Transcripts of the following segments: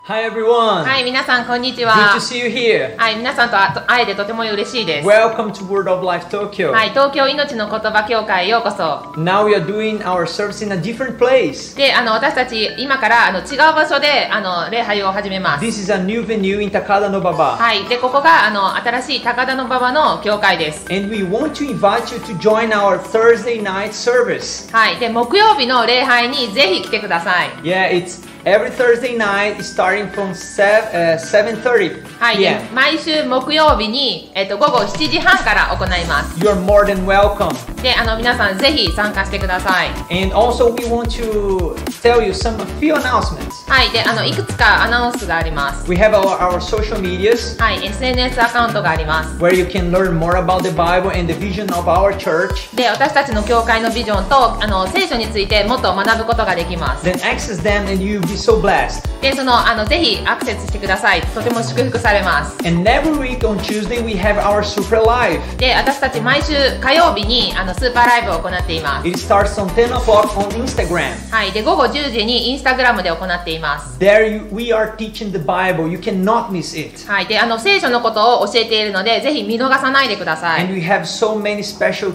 Hi everyone! はい、皆さんこんにち Good は to。see you here! はい、皆さんと会えてとても嬉しいです。 Welcome to Word of Life Tokyo! はい、東京いのちの言葉協会へようこそ。 Now we are doing our service in a different place. で、私たち今から違う場所で礼拝を始めます。 This is a new venue in Takada no Baba. はい、で、ここが新しい高田馬場の教会です。 And we want to invite you to join our Thursday night service. はい、で、木曜日の礼拝にぜひ来てください。 Yeah, it's every Thursday night starting from 7:30 はい、で p.m. 毎週木曜日に、午後7時半から行います。 You're more than welcome. で、皆さんぜひ参加してください。 And also we want to tell you a few announcements. はい、で、いくつかアナウンスがあります。 We have our social medias はい、SNS アカウントがあります。 where you can learn more about the Bible and the vision of our church. で、私たちの教会のビジョンと聖書についてもっと学ぶことができます。 Then access them and you'll be so blessed. で、ぜひアクセスしてください。とても祝福されます。 And every week on Tuesday we have our Super Live. で、私たち毎週火曜日にスーパーライブを行っています。 It starts on 10 o'clock on Instagram. はい、で、午後10時にインスタグラムで行っています。 There we are teaching the Bible. You cannot miss it. はい、で、聖書のことを教えているので、ぜひ見逃さないでくださ And い。 we have so many special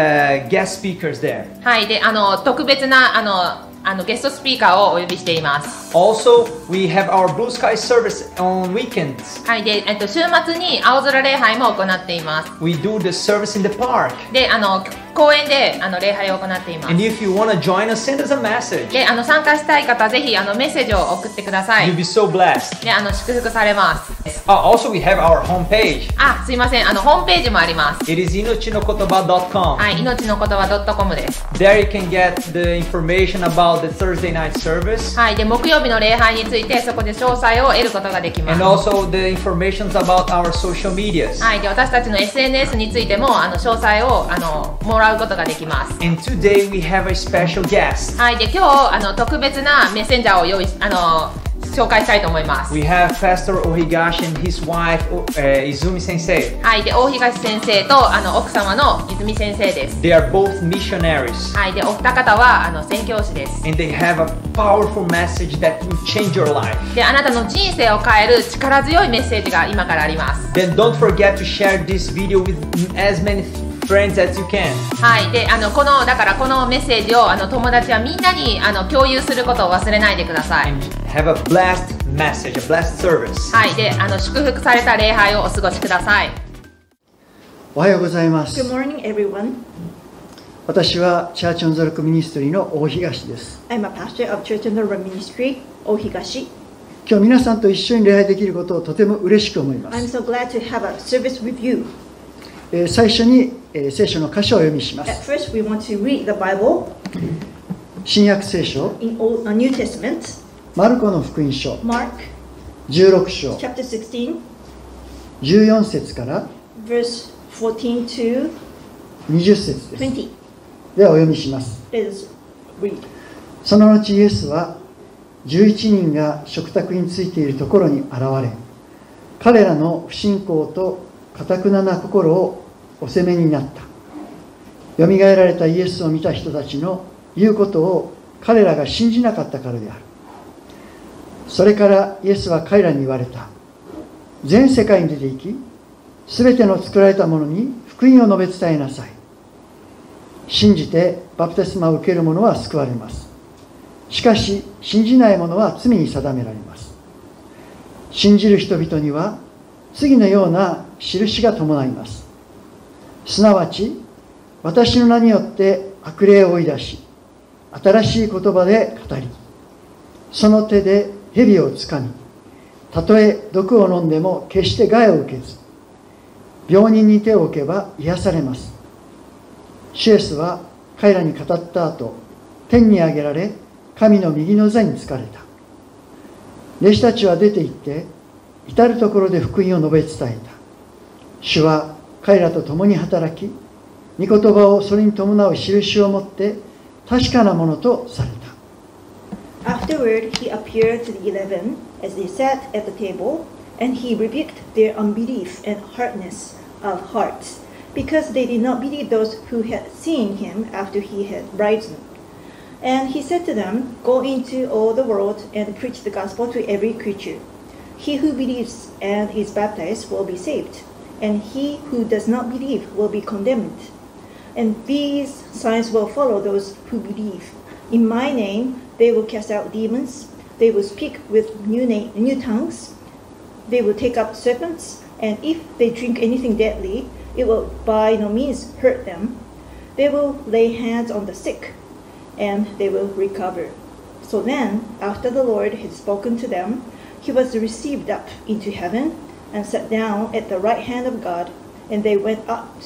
guest speakers there. はい、で、特別なゲストスピーカーをお呼びしています。 Also, we have our Blue Sky service on weekends. はい、で、週末に青空礼拝も行っています。 We do the service in the park. で、公園で礼拝を行っています。 And if you want to join us, send us a message. で、参加したい方、ぜひメッセージを送ってください。 You'll be so blessed. で、祝福されます。 Also, we have our homepage. あ、すいません、ホームページもあります。 It is inochinokotoba.com. はい、命の言葉 .com です。 There you can get the information about the Thursday night service はい、で、木曜日の礼拝について、そこで詳細を得ることができま and す。 also the information about our social medias. はい、で、私たちの SNS についても、詳細をもらうことができます。 And today we have a special guest. はい、で、今日特別なメッセンジャーを紹介したいと思います。 We have Pastor Ohigashi and his wife Izumi Sensei. はい、で、大東先生と奥様の泉先生です。 They are both missionaries はい、で、お二方は宣教師です。 and they have a powerful message that will change your life. で、あなたの人生を変える力強いメッセージが今からあります。 Then don't forget to share this video with as many friends as you can. はい、で、だからこのメッセージを友達はみんなに共有することを忘れないでください。 And have a blessed message, a blessed service. はい、で、祝福された礼拝をお過ごしください。 おはようございます。 Good morning, everyone. 私はチャーチオンザロックミニストリーの大東です。 I'm a pastor of Church on the Road Ministry, Ohigashi. 今日皆さんと一緒に礼拝できることをとても嬉しく思いま I'm す。 so glad to have a service with you. 最初に、聖書の箇所をお読みしま At す。 first, we want to read the Bible 新約聖書 in New Testament, マルコの福音書 Mark 16章 chapter 16, 14節から verse 14 to 20節です。 20. ではお読みします。 Let us read. その後イエスは11人が食卓についているところに現れ、彼らの不信仰と堅くなな心をお責めになった。よみがえられたイエスを見た人たちの言うことを彼らが信じなかったからである。それからイエスは彼らに言われた。全世界に出て行き、すべての作られたものに福音を述べ伝えなさい。信じてバプテスマを受ける者は救われます。しかし信じない者は罪に定められます。信じる人々には次のような印が伴います。すなわち私の名によって悪霊を追い出し、新しい言葉で語り、その手で蛇をつかみ、たとえ毒を飲んでも決して害を受けず、病人に手を置けば癒されます。シエスは彼らに語った後、天に上げられ、神の右の座につかれた。弟子たちは出て行って、至るところで福音を述べ伝えた。主は彼らと共に働き、御言葉をそれに伴う印をもって確かなものとされた。 Afterward, he appeared to the 11 as they sat at the table, and he rebuked their unbelief and hardness of hearts, because they did not believe those who had seen him after he had risen. And he said to them, Go into all the world and preach the gospel to every creature. He who believes and is baptized will be saved, and he who does not believe will be condemned. And these signs will follow those who believe. In my name they will cast out demons, they will speak with new tongues, they will take up serpents, and if they drink anything deadly, it will by no means hurt them. They will lay hands on the sick, and they will recover. So then, after the Lord had spoken to them, he was received up into heaven and sat down at the right hand of God, and they went out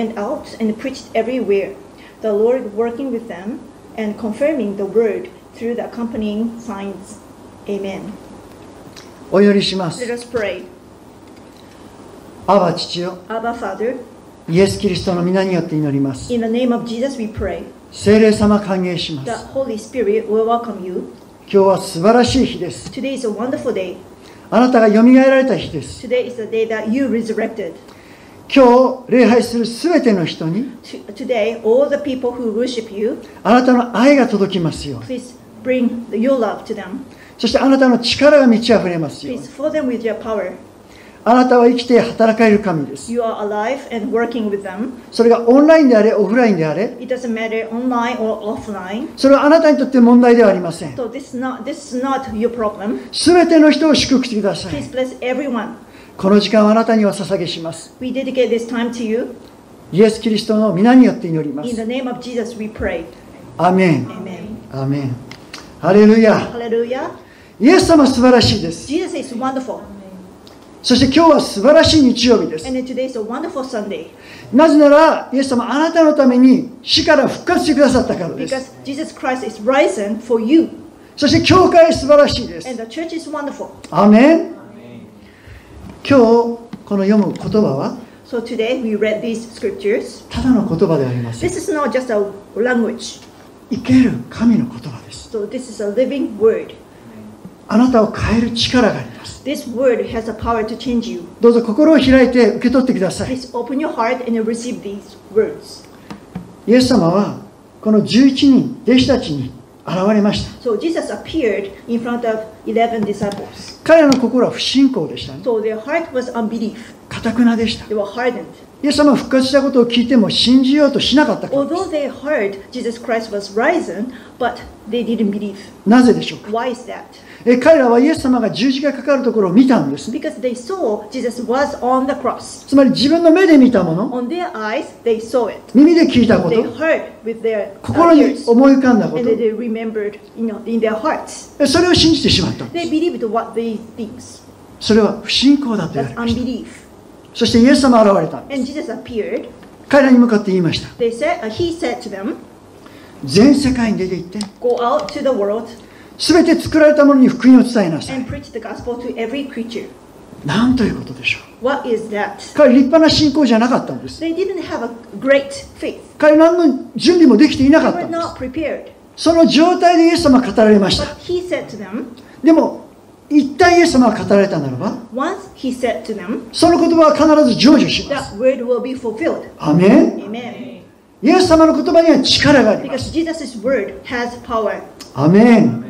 and preached everywhere, the Lord working with them and confirming the word through the accompanying signs. Amen. お祈りしま Let す。 us pray. アバ父よ、 Abba Father, イエス・キリストの皆によって祈ります。 in the name of Jesus we pray. 聖霊様歓迎しま The す。 Holy Spirit will welcome you. 今日は素晴らしい日です。 Today is a wonderful day. あなたがよみがえられた日です。 Today is the day that you resurrected. 今日礼拝するすべての人に Today, all the people who worship you, あなたの愛が届きますように。 please bring your love to them. そしてあなたの力が満ち溢れますように。 Please fill them with your power. あなたは生きて働かれる神です。 You are alive and working with them. それがオンラインであれオフラインであれ、 It doesn't matter online or offline. それはあなたにとって問題ではありません。 So this is not your problem. すべての人を祝福してください。 Please bless everyone. この時間はあなたにお捧げします。 We dedicate this time to you. イエス・キリストの皆によって祈りま In す。 the name of Jesus we pray. アメン。 Amen. アメン。ハレルヤ。 Hallelujah. イエス様素晴らしいです。 Jesus is wonderful. そして今日は素晴らしい日曜日です。 And then today is a wonderful Sunday. なぜなら、イエス様あなたのために死から復活してくださったからです。 Because Jesus Christ is risen for you. そして教会素晴らしいです。 And the church is wonderful. アメン。今日この読む言葉は So today we read these scriptures. ただの言葉ではありません。 This is not just a language. 生ける神の言葉です。 So this is a living word. あなたを変える力があります。 This word has the power to change you. どうぞ心を開いて受け取ってください。 Please open your heart and receive these words. イエス様はこの11人弟子たちに現れました。 So Jesus appeared in front of 11 disciples. 彼らの心は不信仰でしたね。 So their heart was unbelief. 堅くなでした。 They were hardened. イエス様が復活したことを聞いても信じようとしなかったからで Although す。 they heard Jesus Christ was risen, but they didn't believe. なぜでしょうか。 Why is that? 彼らはイエス様が十字架にかかるところを見たんですね。 Because they saw Jesus was on the cross. つまり自分の目で見たもの、 On their eyes, they saw it. 耳で聞いたこ They と、 heard with their 心に ears. 思い浮かんだこ And と、 then they remembered, in their hearts. それを信じてしまったんで They す。 believed what they think. それは不信仰だと言わ That's れました。 unbelief. そしてイエス様が現れたんで And す。 Jesus appeared. 彼らに向かって言いました。 He said to them, 全世界に出て行って、 Go out to the world すべて作られたものに福音を伝えなさい。 and preach the gospel to every creature. なんということでしょう。 What is that? 彼立派な信仰じゃなかったんです。 They didn't have a great faith. 彼何の準備もできていなか They った were んです。 not prepared. その状態でイエス様が語られまし But た。 he said to them, でも、一旦イエス様が語られたならば、 once he said to them, その言葉は必ず成就します。 that word will be fulfilled. アメン。 Amen. イエス様の言葉には力がありま Because す。 Jesus' word has power. アメン。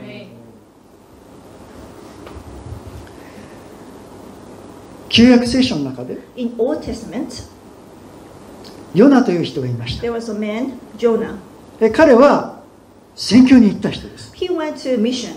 旧約聖書の中で、 In Old Testament, ヨナという人がいました。 there was a man, Jonah. 彼は宣教に行った人です。 He went to mission.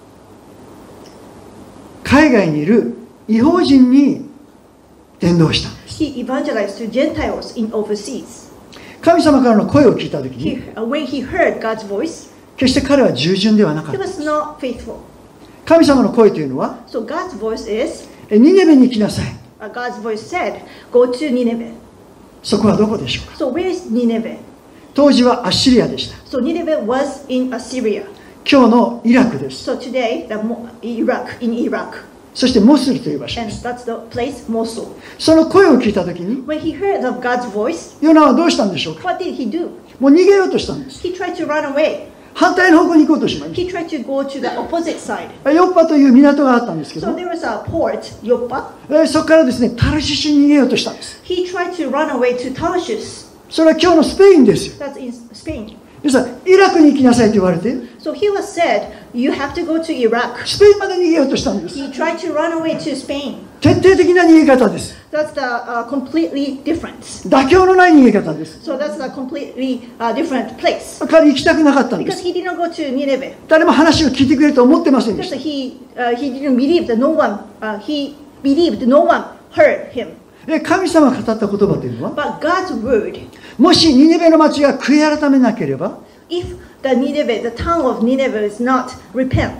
海外にいる異邦人に伝道したんです。 He evangelized to Gentiles in overseas. 神様からの声を聞いたときに、 When he heard God's voice, 決して彼は従順ではなかっ he た。 was not faithful. 神様の声というのは、 So God's voice is, ニネベに行きなさい。 God's voice said, go to Nineveh. そこはどこでしょうか。 So where is Nineveh? 当時はアッシリアでした。 So Nineveh was in Assyria. 今日のイラクです。 So today, in Iraq. そしてモスルという場所 And です。 that's the place, Mosul. その声を聞いたときに、 When he heard of God's voice, ヨナはどうしたんでしょうか。 what did he do? もう逃げようとしたんです。 He tried to run away. 反対の方向に行こうとしまし He tried to go to the opposite side. た。ヨッパという港があったんですけ So ど、 there was a port, Joppa. そこからですね、タルシシュに逃げようとしたんです。 He tried to run away to Tarshish. それは今日のスペインですよ。 That's in Spain. 皆さん、イラクに行きなさいと言われて、 So he was said, you have to go to Iraq. スペインまで逃げようとしたんです。 He tried to run away to Spain. 徹底的な逃げ方です。 That's the completely different. 妥協のない逃げ方です。 So that's a completely different place. 彼行きたくなかったんで Because す。 he did not go to Nineveh. 誰も話を聞いてくれると思ってませんでし Because た。 he didn't believe that no one, he believed no one heard him. 神様が語った言葉というのは、 But God's word, もしニネベの町が悔い改めなければ、 if the town of Nineveh is not repent,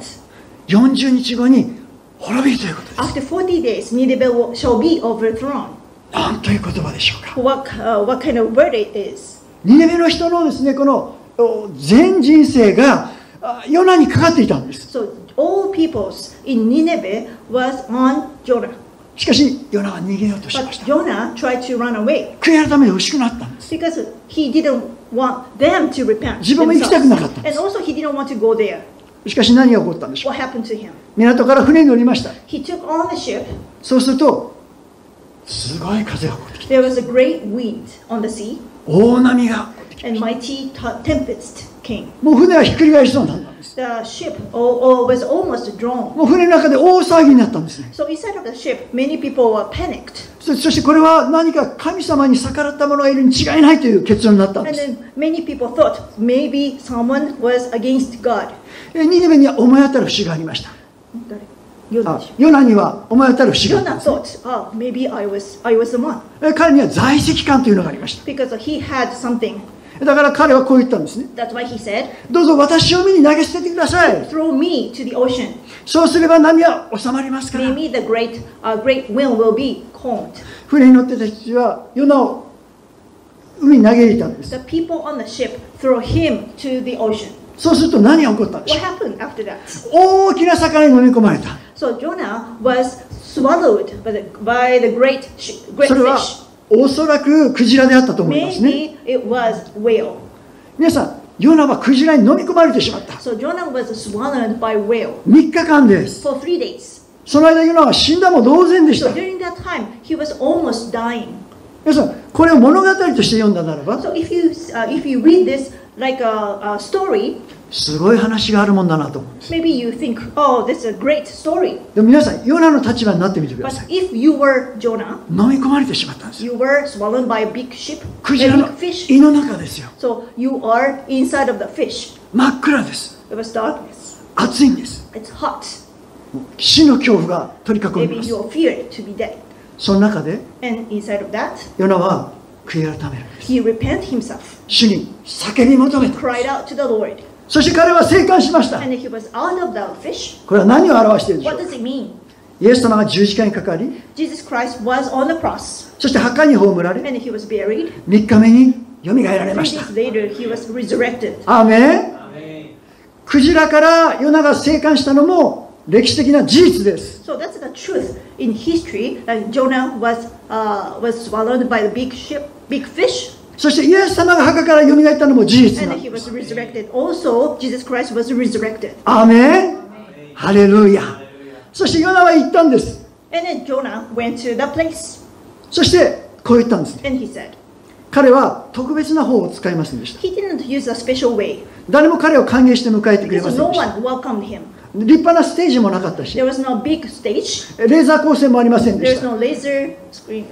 40日後に滅びるということです。 after 40 days, Nineveh shall be overthrown. 何という言葉でしょうか。 What kind of word it is? ニネベの人のですね、この全人生がヨナにかかっていたんです。 So all peoples in Nineveh was on Jonah. しかし、ヨナは逃げようとし But ました。 Jonah tried to run away 悔い改めて欲しくなったんです。 because he didn't want them to repent 自分も行きたくなかったんで themselves. す。 And also he didn't want to go there. しかし何が起こったんでしょう。 What happened to him? 港から船に乗りました。 He took on the ship. そうすると、すごい風が起こってきて、 There was a great wind on the sea, 大波が起こってきて、 and mighty tempest came. もう船はひっくり返しそうになったんです。 The ship was almost drawn. もう船の中で大騒ぎになったんですね。 So inside of the ship, many people were panicked. そしてこれは何か神様に逆らった者がいるに違いないという結論になったん And です。 then many people thought maybe someone was against God. ニネベには思い当たる節がありました。ヨナには思い当たる節があったん Jonah です thought, oh, maybe I was the one. 彼には在籍感というのがありました。 Because he had something. だから彼はこう言ったんですね。 That's why he said, どうぞ私を海に投げ捨ててください。 throw me to the ocean. そうすれば波は収まりますから。 Maybe the great wind will be calmed. 船に乗ってた人たちはヨナを海に投げ入れたんです。 The people on the ship throw him to the ocean. そうすると何が起こったんでし What ょう。 happened after that? 大きな魚に飲み込まれた。 So Jonah was swallowed by the great それは fish. おそらくクジラであったと思いますね。 Maybe it was whale. 皆さん、ヨナはクジラに飲み込まれてしまった。 So Jonah was swallowed by whale 3日間です。 for 3 days. その間ヨナは死んだも同然でし So た。 during that time, he was almost dying. 皆さん、これを物語として読んだならば、 So if you read this like a story, すごい話があるもんだなと思うんです。 maybe you think, oh, this is a great story. でも皆さん、ヨナの立場になってみてくだ But さい。 if you were Jonah, 飲み込まれてしまったんですよ。 you were swallowed by a big ship, ク a ジラ big の fish. 胃の中ですよ。 So you are inside of the fish. 真っ暗です。 It was darkness. 暑いんです。 It's hot. 死の恐怖が取り囲み Maybe ます。 you are feared to be dead. その中で、 And inside of that, ヨナは悔い改めるんです。 he repent himself. 主に叫び求め He た。 cried out to the Lord. そして彼は生還しました。 And he was out of the fish. これは何を表しているでしょ What うか。 does it mean? イエス様が十字架にかかり、 Jesus Christ was on the cross. そして墓に葬られ、 And he was buried. 3日目によみがえられ 3 ました。 days later, he was resurrected. アーメン。クジラからヨナが生還したのも歴史的な事実です。 So that's the truth in history. Jonah was swallowed by the big ship, big fish, そしてイエス様が墓からよみがえったのも事実 and なん he です。 was resurrected. Also, Jesus Christ was resurrected. アーメン。ハレルヤ。そしてヨナは言ったんです。 And then Jonah went to the place, そしてこう言ったんですね。 and he said, 彼は特別な方を使いませんでした。 he didn't use a special way 誰も彼を歓迎して迎えてくれま because せん no でした one welcomed him. 立派なステージもなかったし、 There was no big stage. レーザー光線もありませんで There し was た。 no laser screen,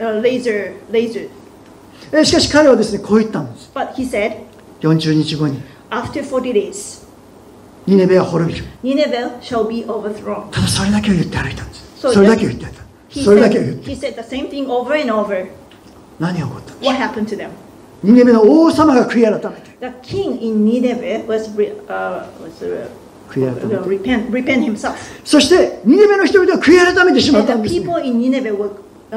laser. しかし彼はですね、こう言ったんです。 But he said, 40日後に after 40 days, ニネベは滅びる。 Nineveh shall be overthrown. ただそれだけを言って歩いたんです。 So それだけを言ってた。 He それだけを言っ said, て。 he said the same thing over and over. 何が起こったんでしょ What happened to them? う。ニネベの王様が悔い改めて。 The king in Nineveh was 悔い改めて。 repent himself. そしてニネベの人々は悔い改めてしまった And ん the です、ね。 people in Nineveh would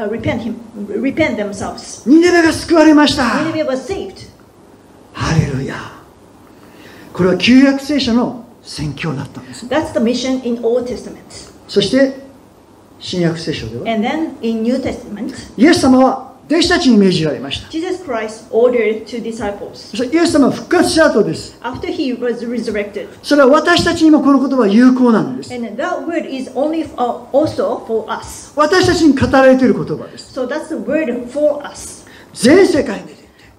repent themselves. ニネベが救われました。 Nineveh was saved. ハレルヤ。これは旧約聖書の宣教だったんです。 That's the mission in Old Testament. そして新約聖書では And then in New Testament, イエス様は弟子たちに命じられました。 Jesus Christ ordered to disciples. そしてイエス様は復活した後です。 After he was resurrected. それは私たちにもこの言葉は有効なんです。 And that word is only also for us. 私たちに語られている言葉です。 So that's the word for us. 全世界に出て行って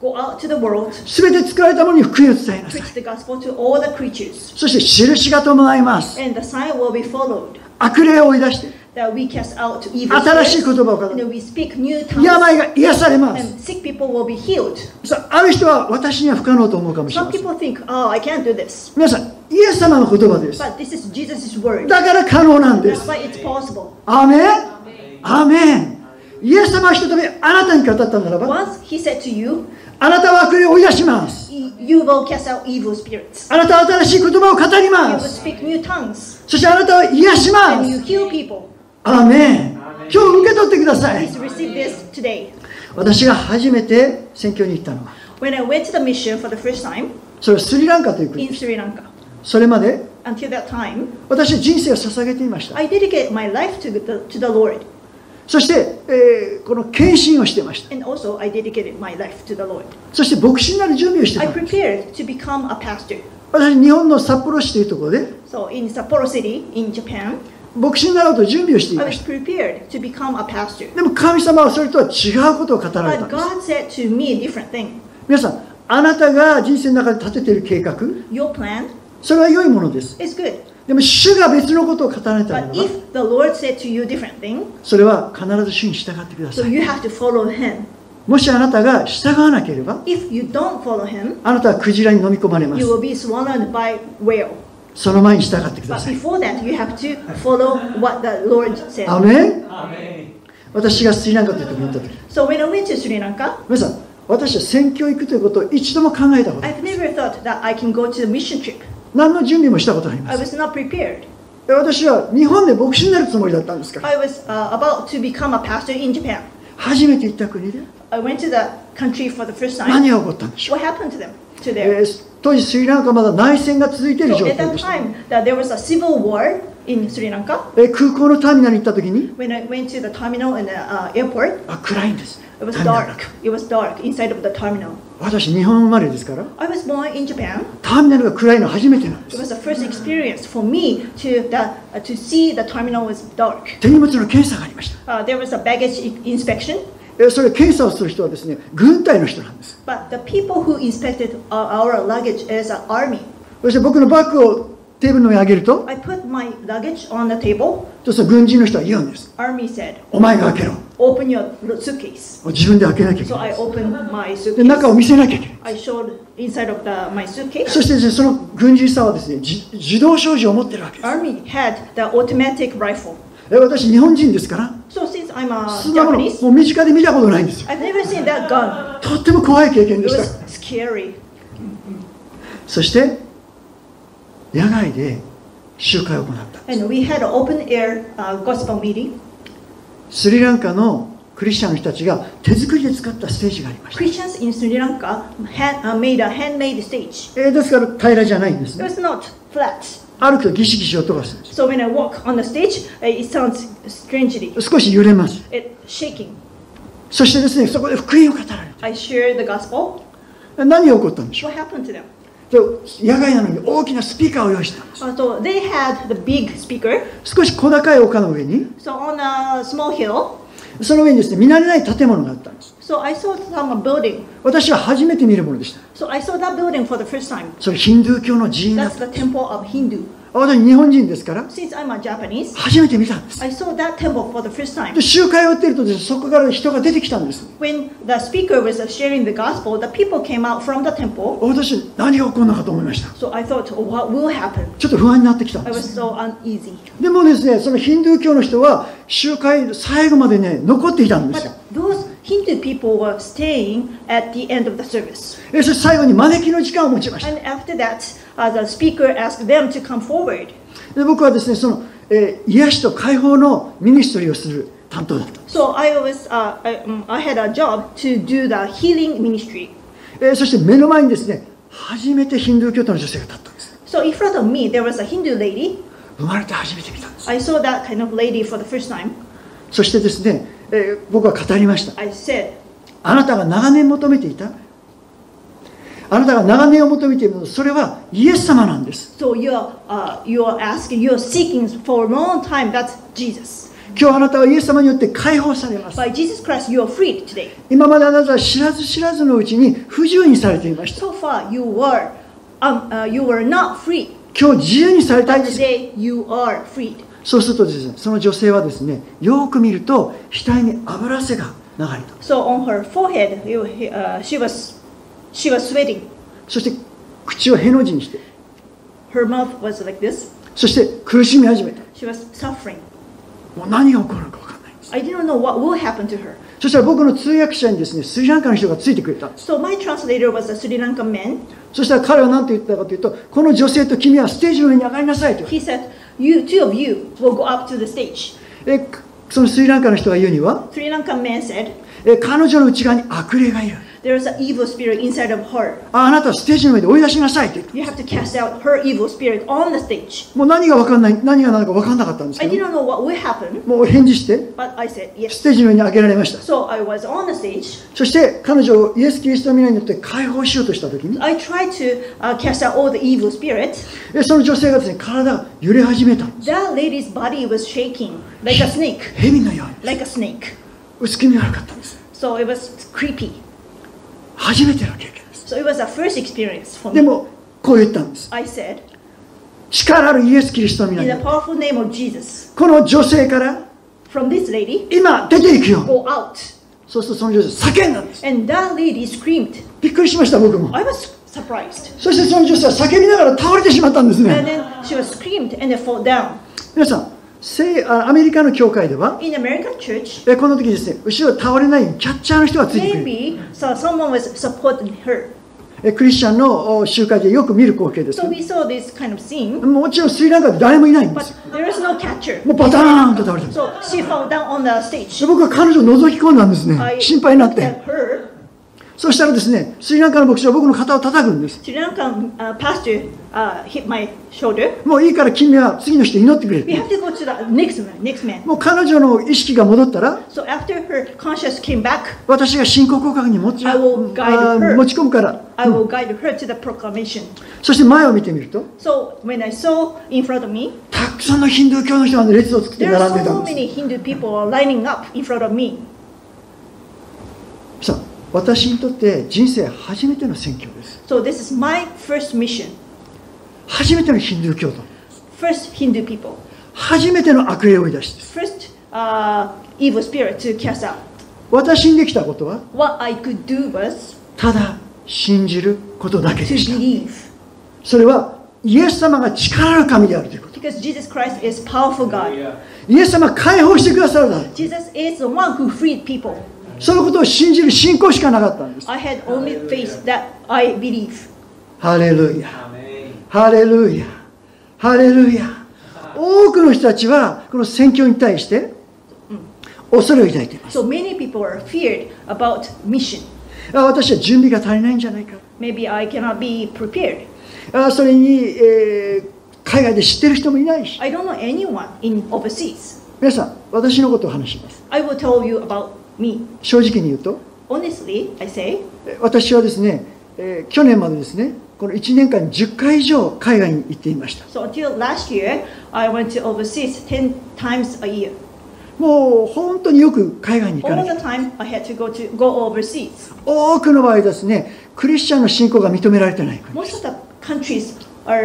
Go out to the world, すべて作られたものに福音を伝えなさい。 preach the gospel to all the creatures, そして印が伴います。 and the sign will be followed. 悪霊を追い出して、 That we cast out evil 新しい spirits, 言葉を語 and る。 we speak new tongues, 病が癒されます。 and sick people will be healed. ある人は私には不可能と思うかもしれ Some ません。 people think, oh, I can't do this. 皆さん、イエス様の言葉です。 But this is Jesus' word. だから可能なんで That's す。 why it's possible. アーメン。アーメン。イエス様は一度目あなたに語ったならば、 Once he said to you, あなたは悪霊を追い出します。 you will cast out evil spirits. あなたは新しい言葉を語り You ま will す。 speak new tongues. そしてあなたは癒しま And you す。 heal people. アーメン。今日受け取ってください。 Please receive this today. 私が初めて宣教に行ったのは、 When I went to the mission for the first time それはスリランカという国 in です。 Sri Lanka, それまで until that time, 私は人生を捧げていました。 I dedicate my life to the Lord. そして、この献身をしていました。 And also, I dedicated my life to the Lord. そして牧師になる準備をしてい I た。 prepared to become a pastor. 私、日本の札幌市というところで So in Sapporo City, in Japan, 牧師になろうと準備をしてい I ま was した。 prepared to become a pastor. でも神様はそれとは違うことを語られた But んです。 God said to me a different thing. 皆さん、あなたが人生の中で立てている計画、 Your plan それは良いものです。 is good. でも主が別のことを語られたなら But ば、 if the Lord said to you a different thing, それは必ず主に従ってくだ so さい。 you have to follow Him. もしあなたが従わなければ、 If you don't follow Him, あなたはクジラに飲み込まれま you す。 will be swallowed by whale. その前に従ってくだ But さい。 before that, you have to follow what the Lord said. アメン。私がスリランカというところに行った時、 So when I went to Sri Lanka, 皆さん、私は宣教行くということを一度も考えたことない I've never thought that I can go to the mission trip. 何の準備もしたことありま I す。 was not prepared. 私は日本で牧師になるつもりだったんですから、 I was about to become a pastor in Japan. 初めて行った国で I went to the country for the first time. 何が起こったんでしょう。 What happened to them? To there? 当時スリランカはまだ内戦が続いている So 状 at 態 that でした。 time, that there was a civil war in Sri Lanka. 空港のターミナルに行った時に、 When I went to the terminal in the airport, 暗いんです。 it was ターミナル dark. It was dark inside of the terminal. 私、日本生まれですから、 I was born in Japan. ターミナルが暗いのは初めてなんで It す。 was the first experience for me to see the terminal was dark. 手荷物の検査がありました。 There was a baggage inspection, それ検査をする人はですね、軍隊の人なんです。 but the people who inspected our luggage is an army. そして僕のバッグをテーブルの上に上げると、 I put my luggage on the table. そうすると軍人の人は言うんです。 Army said, お前が開けろ。 open your suitcase. 自分で開けなきゃいけ So な I い。 opened my で、中を suitcase. 見せなきゃいけない。 I showed inside of my suitcase. そしてですね、その軍人さんはですね、自動小銃を持ってるわけです。 Army had the automatic rifle. 私、日本人ですから、 So since I'm そんなもの Japanese, もう身近で見たことないんですよ。 I've never seen that gun. とっても怖い経験 It でした。 was scary. そして野外で集会を行った。 And we had an open air gospel meeting. スリランカのクリスチャンの人たちが手作りで作ったステージがありました。 Christians in Sri Lanka made a handmade stage. ですから平らじゃないんです It ね。 was not flat. 歩くとギシギシ音がするんです。 So when I walk on the stage, it sounds strangely. 少し揺れます。 It's shaking. そしてですね、そこで福音を語られ I shared the gospel. て、何が起こったんでしょ What happened to them? う。野外なのに大きなスピーカーを用意したんです。 So they had the big speaker. 少し小高い丘の上に、 So on a small hill. その上にですね、見慣れない建物があったんです。 So I saw some building. 私は初めて見るものでした。 So I saw that building for the first time. それヒンドゥー教の寺院だっ That's た。 the temple of Hindu. 私日本人ですから、 Since I'm a Japanese, 初めて見たんです。 I saw that temple for the first time. で、集会をやっているとですね、そこから人が出てきたんです。 When the speaker was sharing the gospel, the people came out from the temple. 私、何が起こるのかと思いました。 So I thought, what will happen? ちょっと不安になってきたん I で was す。 so uneasy. でもですね、そのヒンドゥー教の人は集会最後までね、残っていたんですよ。 But those Hindu people were staying at the end of the service. そして最後に招きの時間を持ちました。 And after that, the speaker asked them to come forward. で、僕はですね、その、癒しと解放のミニストリーをする担当だったんです。 So I had a job to do the healing ministry. そして目の前にですね、初めてヒンドゥー教徒の女性が立ったんです。 So in front of me, there was a Hindu lady. 生まれて初めて見たんです。 I saw that kind of lady for the first time. そしてですね、僕は語りました。 I said, あなたが長年求めていた、あなたが長年を求めているのは、それはイエス様なんです。 so you're seeking for a long time. That's Jesus. 今日あなたはイエス様によって解放されます。 By Jesus Christ, you are freed today. 今まであなたは知らず知らずのうちに不自由にされていました。 So far, you were not free. 今日自由にされたい But です。 today, you are freed. そうするとですね、その女性はですね、よく見ると額に脂汗が流れた。 So on her forehead, she was sweating. そして口をへの字にして、 Her mouth was like this. そして苦しみ始めた。 She was suffering. もう何が起こるのか分からないんです。 I didn't know what will happen to her. そしたら僕の通訳者にですね、スリランカの人がついてくれたんです。 So my translator was a Sri Lankan man. そしたら彼は何て言ったかというと、この女性と君はステージの上に上がりなさいと。 He said, two of you will go up to the stage. そのスリランカの人が言うには、 Sri Lankan man said, 彼女の内側に悪霊がいる。 there is an evil spirit inside of her. あなたはステージの上で追い出しなさいと言った。 You have to cast out her evil spirit on the stage. もう何が分かんない、何が何だか分かんなかったんです I けど、 didn't know what will happen, もう返事して、 but I said ス yes. テージの上に上げられました。 So I was on the stage. そして彼女をイエス・キリストの皆によって解放しようとしたときに、 I tried to cast out all the evil spirit. その女性がですね、体が揺れ始めたんです。 That lady's body was shaking like a snake, 蛇のように like a snake. 薄気味悪かったんです。 So it was creepy. 初めての経験です。 So it was a first experience for で me. もこう言ったんです。 I said, 力あるイエス・キリストの皆 in に the powerful name of Jesus, この女性から from this lady, 今出ていくように。 go out. そうするとその女性叫んだんです。 And that lady screamed. びっくりしました僕も。 I was surprised. そしてその女性は叫びながら倒れてしまったんです And ね。 then she was screamed and then fall down. 皆さん、アメリカの教会では In American church, この時ですね、後ろ倒れないようにキャッチャーの人がついてくる。 maybe so someone was supporting her. クリスチャンの集会でよく見る光景です So。we saw this kind of scene, もちろんスリランカで誰もいないんで but す。 there is no catcher. もうバターンと倒れてる。 So she fell down on the stage. で僕は彼女を覗き込んだんですね。 I 心配になっ looked て。 at her. そしたらですね、スリランカの牧師は僕の肩を叩くんです。 Sri Lankan pastor hit my shoulder. もういいから君は次の人祈ってくれ We って。 have to go to the next man. もう彼女の意識が戻ったら、 So after her conscience came back, 私が信仰告白に持ち I will guide her. 持ち込むから。 I will guide her to the proclamation. そして前を見てみると、 So when I saw in front of me, たくさんのヒンドゥー教の人が列を作って there 並ん are でた so んです。 many Hindu people lining up in front of me. さあ、私にとって人生初めての宣教です。 So this is my first mission. 初めてのヒンドゥー教徒。 First Hindu people. 初めての悪霊を追い出しです。 First evil spirit to cast out. 私にできたことは、 What I could do was ただ信じることだけ to でした。 believe. それはイエス様が力ある神であるということ。 Because Jesus Christ is powerful God. イエス様が解放してくださるだろう。 Jesus is the one who freed people. そのことを信じる信仰しかなかったんです。 I had only faith that I believe. ハレルヤ。ハレルヤ。ハレルヤ。多くの人たちはこの宣教に対して恐れを抱いています。 So many people are feared about mission. 私は準備が足りないんじゃないか。 Maybe I cannot be prepared. それに、海外で知ってる人もいないし。 I don't know anyone in overseas. 皆さん、私のことを話します。 I will tell you about me. 正直に言うと、 Honestly, I say, 私はですね、去年までですね、この1年間に10回以上海外に行っていました。 so until last year, I went to overseas 10 times a year. もう本当によく海外に行か All な the きゃ。 time, I had to go overseas. 多くの場合ですね、クリスチャンの信仰が認められてない国。 Most of the countries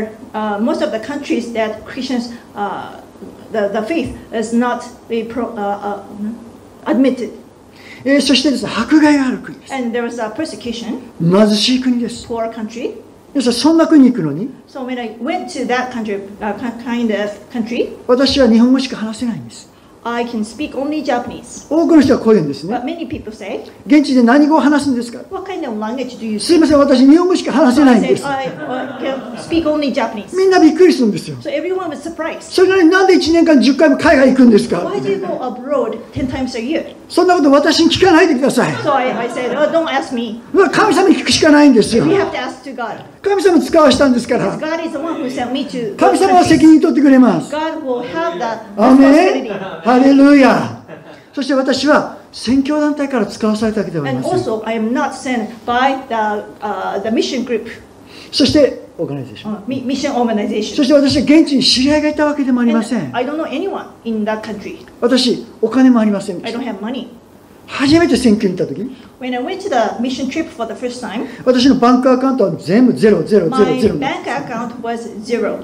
that Christians, the faith is not admitted. そしてですね、迫害がある国です。 And there was a persecution, 貧しい国です。 poor country. 皆さん、そんな国に行くのに、 So when I went to that kind of country, 私は日本語しか話せないんです。 I can speak only Japanese. 多くの人はこう言うんですね。 But many people say, 現地で何語を話すんですか。 what kind of language do you すい speak? ません、私日本語しか話せ So な I いんで said, す。 I can speak only Japanese. みんなびっくりするんですよ。 So everyone was surprised. それなのになんで1年間10回も海外行くんですか。 Why do you go abroad 10 times a year? そんなこと私に聞かないでください。 So I said, oh, don't ask me. 神様に聞くしかないんですよ。 We have to ask to God. 神様使わしたんですか Because ら。 God is the one who sent me to 神 those 様は責 countries. 任取ってくれます。 God will have that アーメン。 responsibility. ハレルヤ。そして私は宣教団体から使わされたわけではあり And ません。 also, I am not sent by the mission group. そしてオーガナイゼーション。 mission そ organization. して私は現地に知り合いがいたわけでもありませ And ん。 I don't know anyone in that country. 私、お金もありませんで I し don't た。 have money. 初めて選挙に行った時、 When I went to the mission trip for the first time, 私のバンクアカウントは全部ゼロゼロゼ my ロゼロ。 bank account was 0.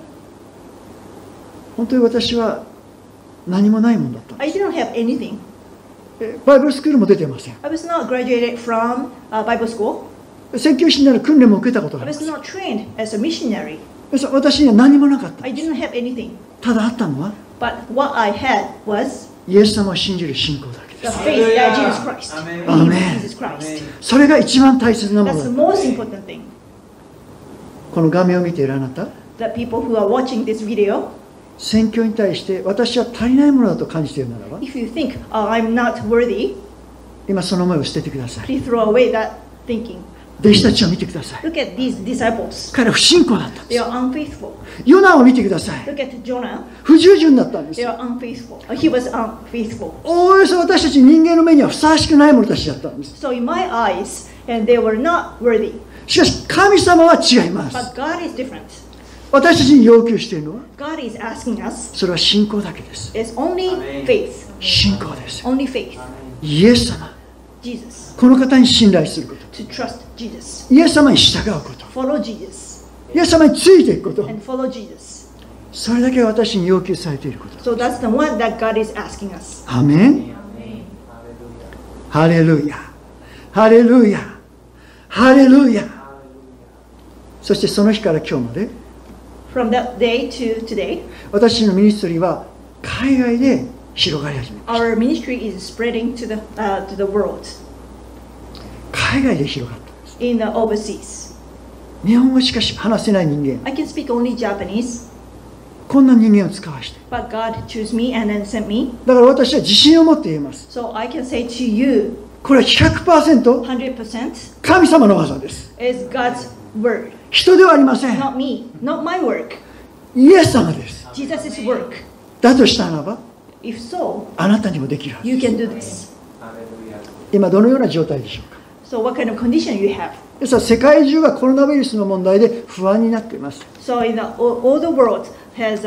本当に私は何もないもんだった。 I didn't have anything. バイブルスクールも出てません。 I was not graduated from Bible school. 宣教師になる訓練も受けたことがあ I りま was す。 not trained as a missionary. 私には何もなかった。 I didn't have anything. ただあったのは、 But what I had was イエス様を信じる信仰だけ the です。 faith that Jesus Christ. Amen. Believe in Amen. Jesus Christ. それが一番大切なもの That's the だ。 most important thing. この画面を見ているあなた、 The people who are watching this video, 宣教に対して私は足りないものだと感じているならば、 if you think, oh, I'm not worthy, 今その思いを捨ててください。 please throw away that thinking. 弟子たちを見てください。 Look at these disciples. 彼は不信仰だったんで They す。 are unfaithful. ヨナを見てください。 Look at Jonah. 不従順だったんです They。are unfaithful. He was unfaithful. おおよそ私たち人間の目にはふさわしくない者たちだったんです。 So in my eyes, and they were not worthy. しかし神様は違います。 But God is different. 私たちに要求しているのは、 God is asking us, それは信仰だけです。 it's only faith. 信仰です。 Only faith. イエス様、 Jesus. この方に信頼すること。 To trust Jesus. イエス様に従うこと。 Follow Jesus. イエス様についていくこと。 And follow Jesus. それだけが私に要求されていること。 So that's the one that God is asking us. アメン。ハレルヤ。ハレルヤ。ハレルヤ。そしてその日から今日まで、 From that day to today, 私のミニストリーは海外で広がり始めました。 our ministry is spreading to the world, 海外で広がったんです。 in the overseas. 日本語しか話せない人間、 I can speak only Japanese, こんな人間を使わして、 but God chose me and then sent me. だから私は自信を持って言えます。 So I can say to you, これは 100% 100% 神様の技です。 is God's word, 人ではありません。 not me, not my work. イエス様です。 Jesus' work. だとしたならば、 If so, あなたにもできるはず you です。 can do this. 今どのような状態でしょうか。 So what kind of condition you have? ですから世界中がコロナウイルスの問題で不安になっています。 So in all the world has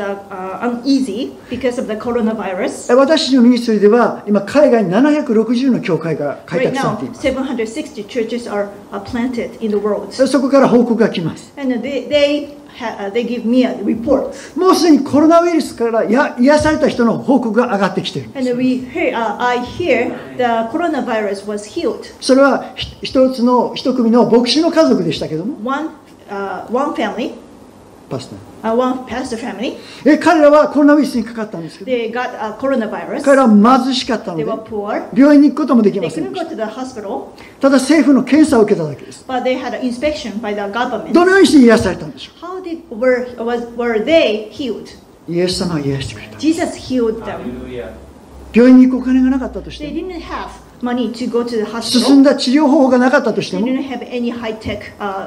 uneasy because of the coronavirus. 私のミニストリーでは今海外に760の教会が開 Right 拓さ now, れています。 760 churches are planted in the world. そこから報告が来ます。 And they give me a report. もうすでにコロナウイルスから癒された人の報告が上がってきている。 And I hear the coronavirus was healed. それは一組の牧師の家族でしたけども、 One family, パスタ one pastor family, 彼らはコロナウイルスにかかったんですけど、 they got coronavirus. 彼らは貧しかったの They で were poor. 病院に行くこともでき They ません couldn't でし go to the hospital, た。ただ政府の検査を受けただけです。 but they had an inspection by the government. どのようにして癒されたんでしょ How were they healed? う。イエス様は癒してくれた。 Jesus healed them. 病院に行くお金がなかったとし They ても、 didn't have money to go to the 進ん hospital. だ治療方法がなかったとして They も、 didn't have any high-tech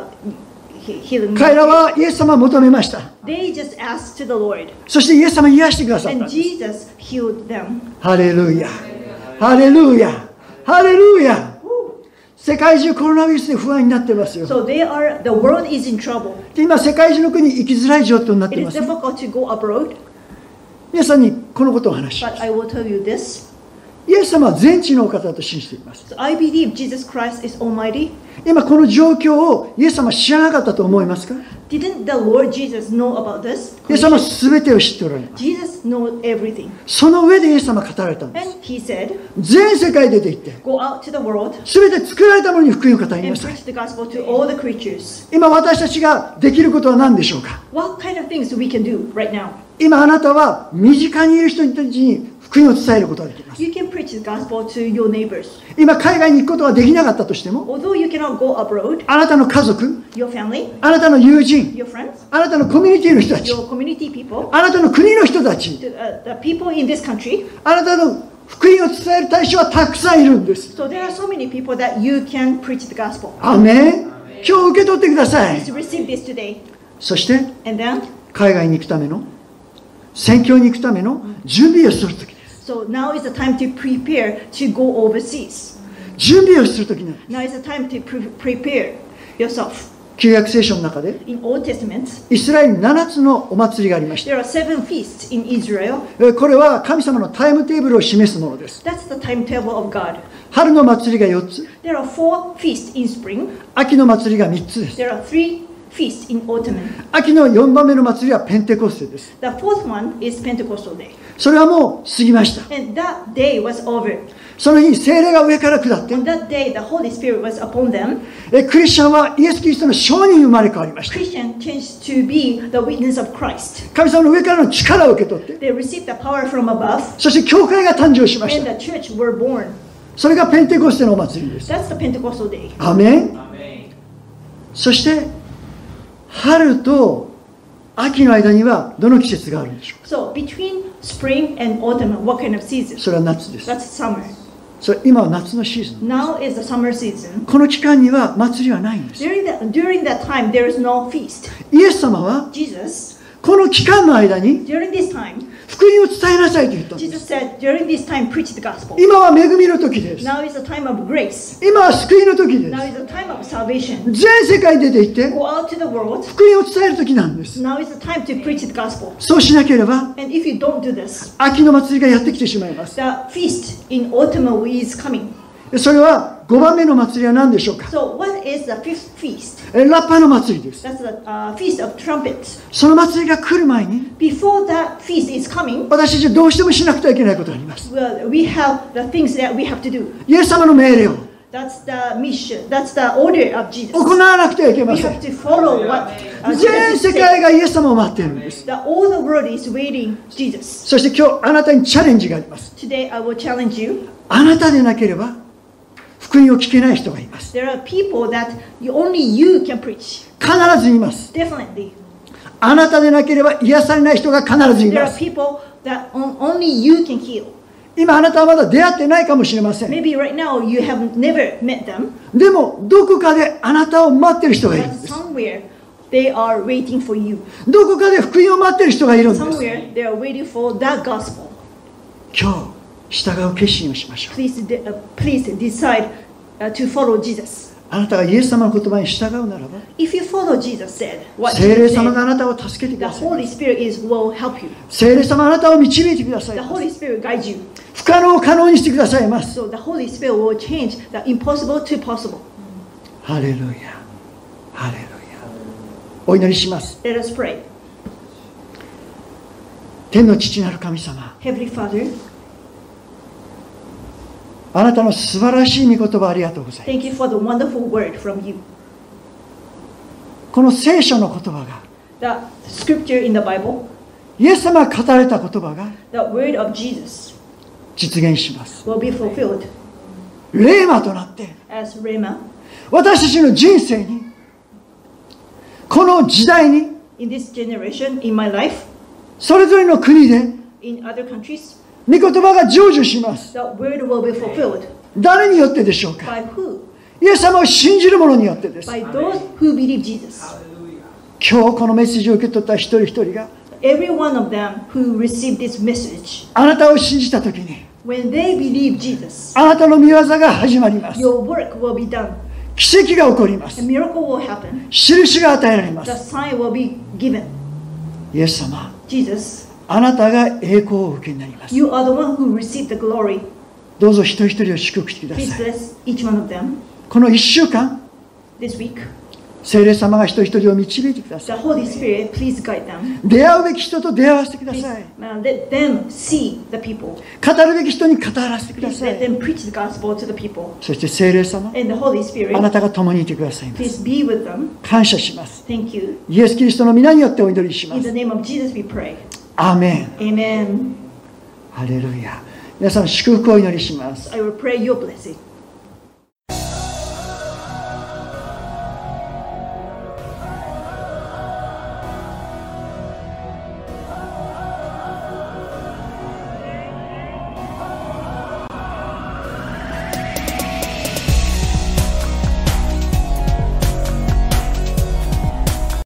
healing. 彼らはイエス様を求めました。 They just asked to the Lord, そしてイエス様を癒してくださった and んです。 Jesus healed them. ハレルヤ。ハレルヤ。ハレルヤ。世界中コロナウイルスで不安になってますよ。 So the world is in trouble. で今世界中の国行きづらい状況になって It いま is す。 difficult to go abroad, 皆さんにこのことをお話しま but す。 I will tell you this. イエス様は全知のお方と信じています。 So I believe Jesus Christ is Almighty. 今この状況をイエス様は知らなかったと思いますか？ Didn't the Lord Jesus know about this? イエス様は全てを知っておられます。 Jesus knows everything. その上でイエス様は語られたんです。 And he said, 全世界出て行って、 go out to the world 全て作られたものに福音を語り and なさい。 preach the gospel to all the creatures. 今私たちができることは何でしょうか？ What kind of things we can do right now? 今あなたは身近にいる人たちに福音を伝えることができます。 You can preach the gospel to your neighbors. 今海外に行くことができなかったとしても、 Although you cannot go abroad, あなたの家族、 your family, あなたの友人、 your friends, あなたのコミュニティの人たち、 your community people, あなたの国の人たち、 the people in this country. あなたの福音を伝える対象はたくさんいるんです。 So there are so many people that you can preach the gospel. アメン。今日受け取ってください。 Please receive this today. そして And then, 海外に行くための、宣教に行くための準備をするときです。 so now is the time to prepare to go overseas. 準備をするときなんです。 Now is the time to prepare yourself. 旧約聖書の中で In Old Testament, イスラエルに7つのお祭りがありました。 there are 7 feasts in Israel. これは神様のタイムテーブルを示すものです。 That's the timetable of God. 春の祭りが4つ、 There are 4 feasts in spring. 秋の祭りが3つです。 There are 3 feasts in autumn. 秋の4番目の祭りはペンテコステです。 The 4th one is Pentecostal Day. それはもう過ぎました。 And that day was over. その日に聖霊が上から下って、 On that day, the Holy Spirit was upon them. クリスチャンはイエス・キリストの証人に生まれ変わりました。 Christian changed to be the witness of Christ. 神様の上からの力を受け取って、 They received the power from above, そして教会が誕生しまし and た。 the church were born. それがペンテコステのお祭りです。 That's the Pentecostal Day. アメン。そして春と秋の間にはどの季節があるんでしょうか。 So between spring and autumn, what kind of season? それは夏です。 That's summer. それ今は夏のシーズン。 Now is the summer season. この期間には祭りはないんです。 During that time, there is no feast. イエス様は Jesus, この期間の間に during this time, 福音を伝えなさいと言ったんです。 Jesus said, during this time, preach the gospel. 今は恵みの時です。 Now is the time of grace. 今は救いの時で Now す。 is the time of salvation. 全世界に出て行って Go out to the world. 福音を伝える時なんです。 Now is the time to preach the gospel. そうしなければ And if you don't do this, 秋の祭りがやってきてしまいます。 the feast in autumn is coming. それは5番目の祭りは何でしょうか。 So what is the fifth feast? ラッパの祭りです。 That's the feast of trumpets. その祭りが来る前に Before that feast is coming, 私たちはどうしてもしなくてはいけないことがあります。 well, we have the things that we have to do. イエス様の命令を That's the mission. That's the order of Jesus. 行わなくてはいけま We せ have ん。 to follow what 全 Jesus 世界 said. がイエス様を待っているんです。 All the world is waiting Jesus. そして今日あなたにチャレンジがあります。 Today I will challenge you. あなたでなければ福音を聞けない人がいます。 There are people that only you can preach. 必ずいます。 Definitely. あなたでなければ癒されない人が必ずい There ま are す。 people that only you can heal. 今あなたはまだ出会ってないかもしれません。 Maybe right now you have never met them, でもどこかであなたを待っている人がいるん but です。 somewhere they are waiting for you. どこかで福音を待っている人がいるんです。 Somewhere they are waiting for that gospel. 今日従う決心をしましょう。 Please decide to follow Jesus. あなたがイエス様の言葉に従うならば、 If you follow Jesus said, what 聖霊 Jesus 様があ said, なたを助けてく the ださい。 Holy Spirit will help you. 聖霊様あなたを導いてください The。Holy Spirit guides you. 不可能を可能にしてくださいます。 So the Holy Spirit will change the impossible to possible. ハレルヤ。ハレルヤ。お祈りします。 Let us pray. 天の父なる神様、 Heavenly Father, あなたの素晴らしい御言葉ありがとうございます。 thank you for the wonderful word from you. この聖書の言葉が、 The scripture in the Bible, イエス様が語られた言葉が the word of Jesus 実現します。 will be fulfilled レーマとなって、 as Rhema 私たちの人生に、この時代に、 in this generation, in my life, それぞれの国で、 in other countries. 御言葉が成就します。 The word will be fulfilled. 誰によってでしょうか。 By who? イエス様を信じる者によってです。 By those who believe Jesus. 今日このメッセージを受け取った一人一人が、 Every one of them who received this message, あなたを信じたときに、 when they believe Jesus, あなたの御業が始まります。 your work will be done. 奇跡が起こりま A す。 miracle will happen. 印が与えられま The す。 sign will be given. イエス様、 Jesus, あなたが栄光をお受けになります。 you are the one who received the glory. どうぞ一人一人を祝福してくだ Please さい。 bless each one of them この1週間、 this week. 聖霊様が一人一人を導いてくださ The い。 Holy Spirit, please guide them. 出会うべき人と出会わせてくだ Please さい。 let them see the people. 語るべき人に語らせてくだ Please さ let い。 them preach the gospel to the people. そして聖霊様、 And the Holy あな Spirit, たが共にいてくださいます。 please be with them. 感謝します。 Thank you. イエス・キリストの皆によってお祈りしま In す the。name of Jesus we pray. アーメン。 Amen. ハレルヤ。皆さん祝福をお祈りします。 I will pray your blessing.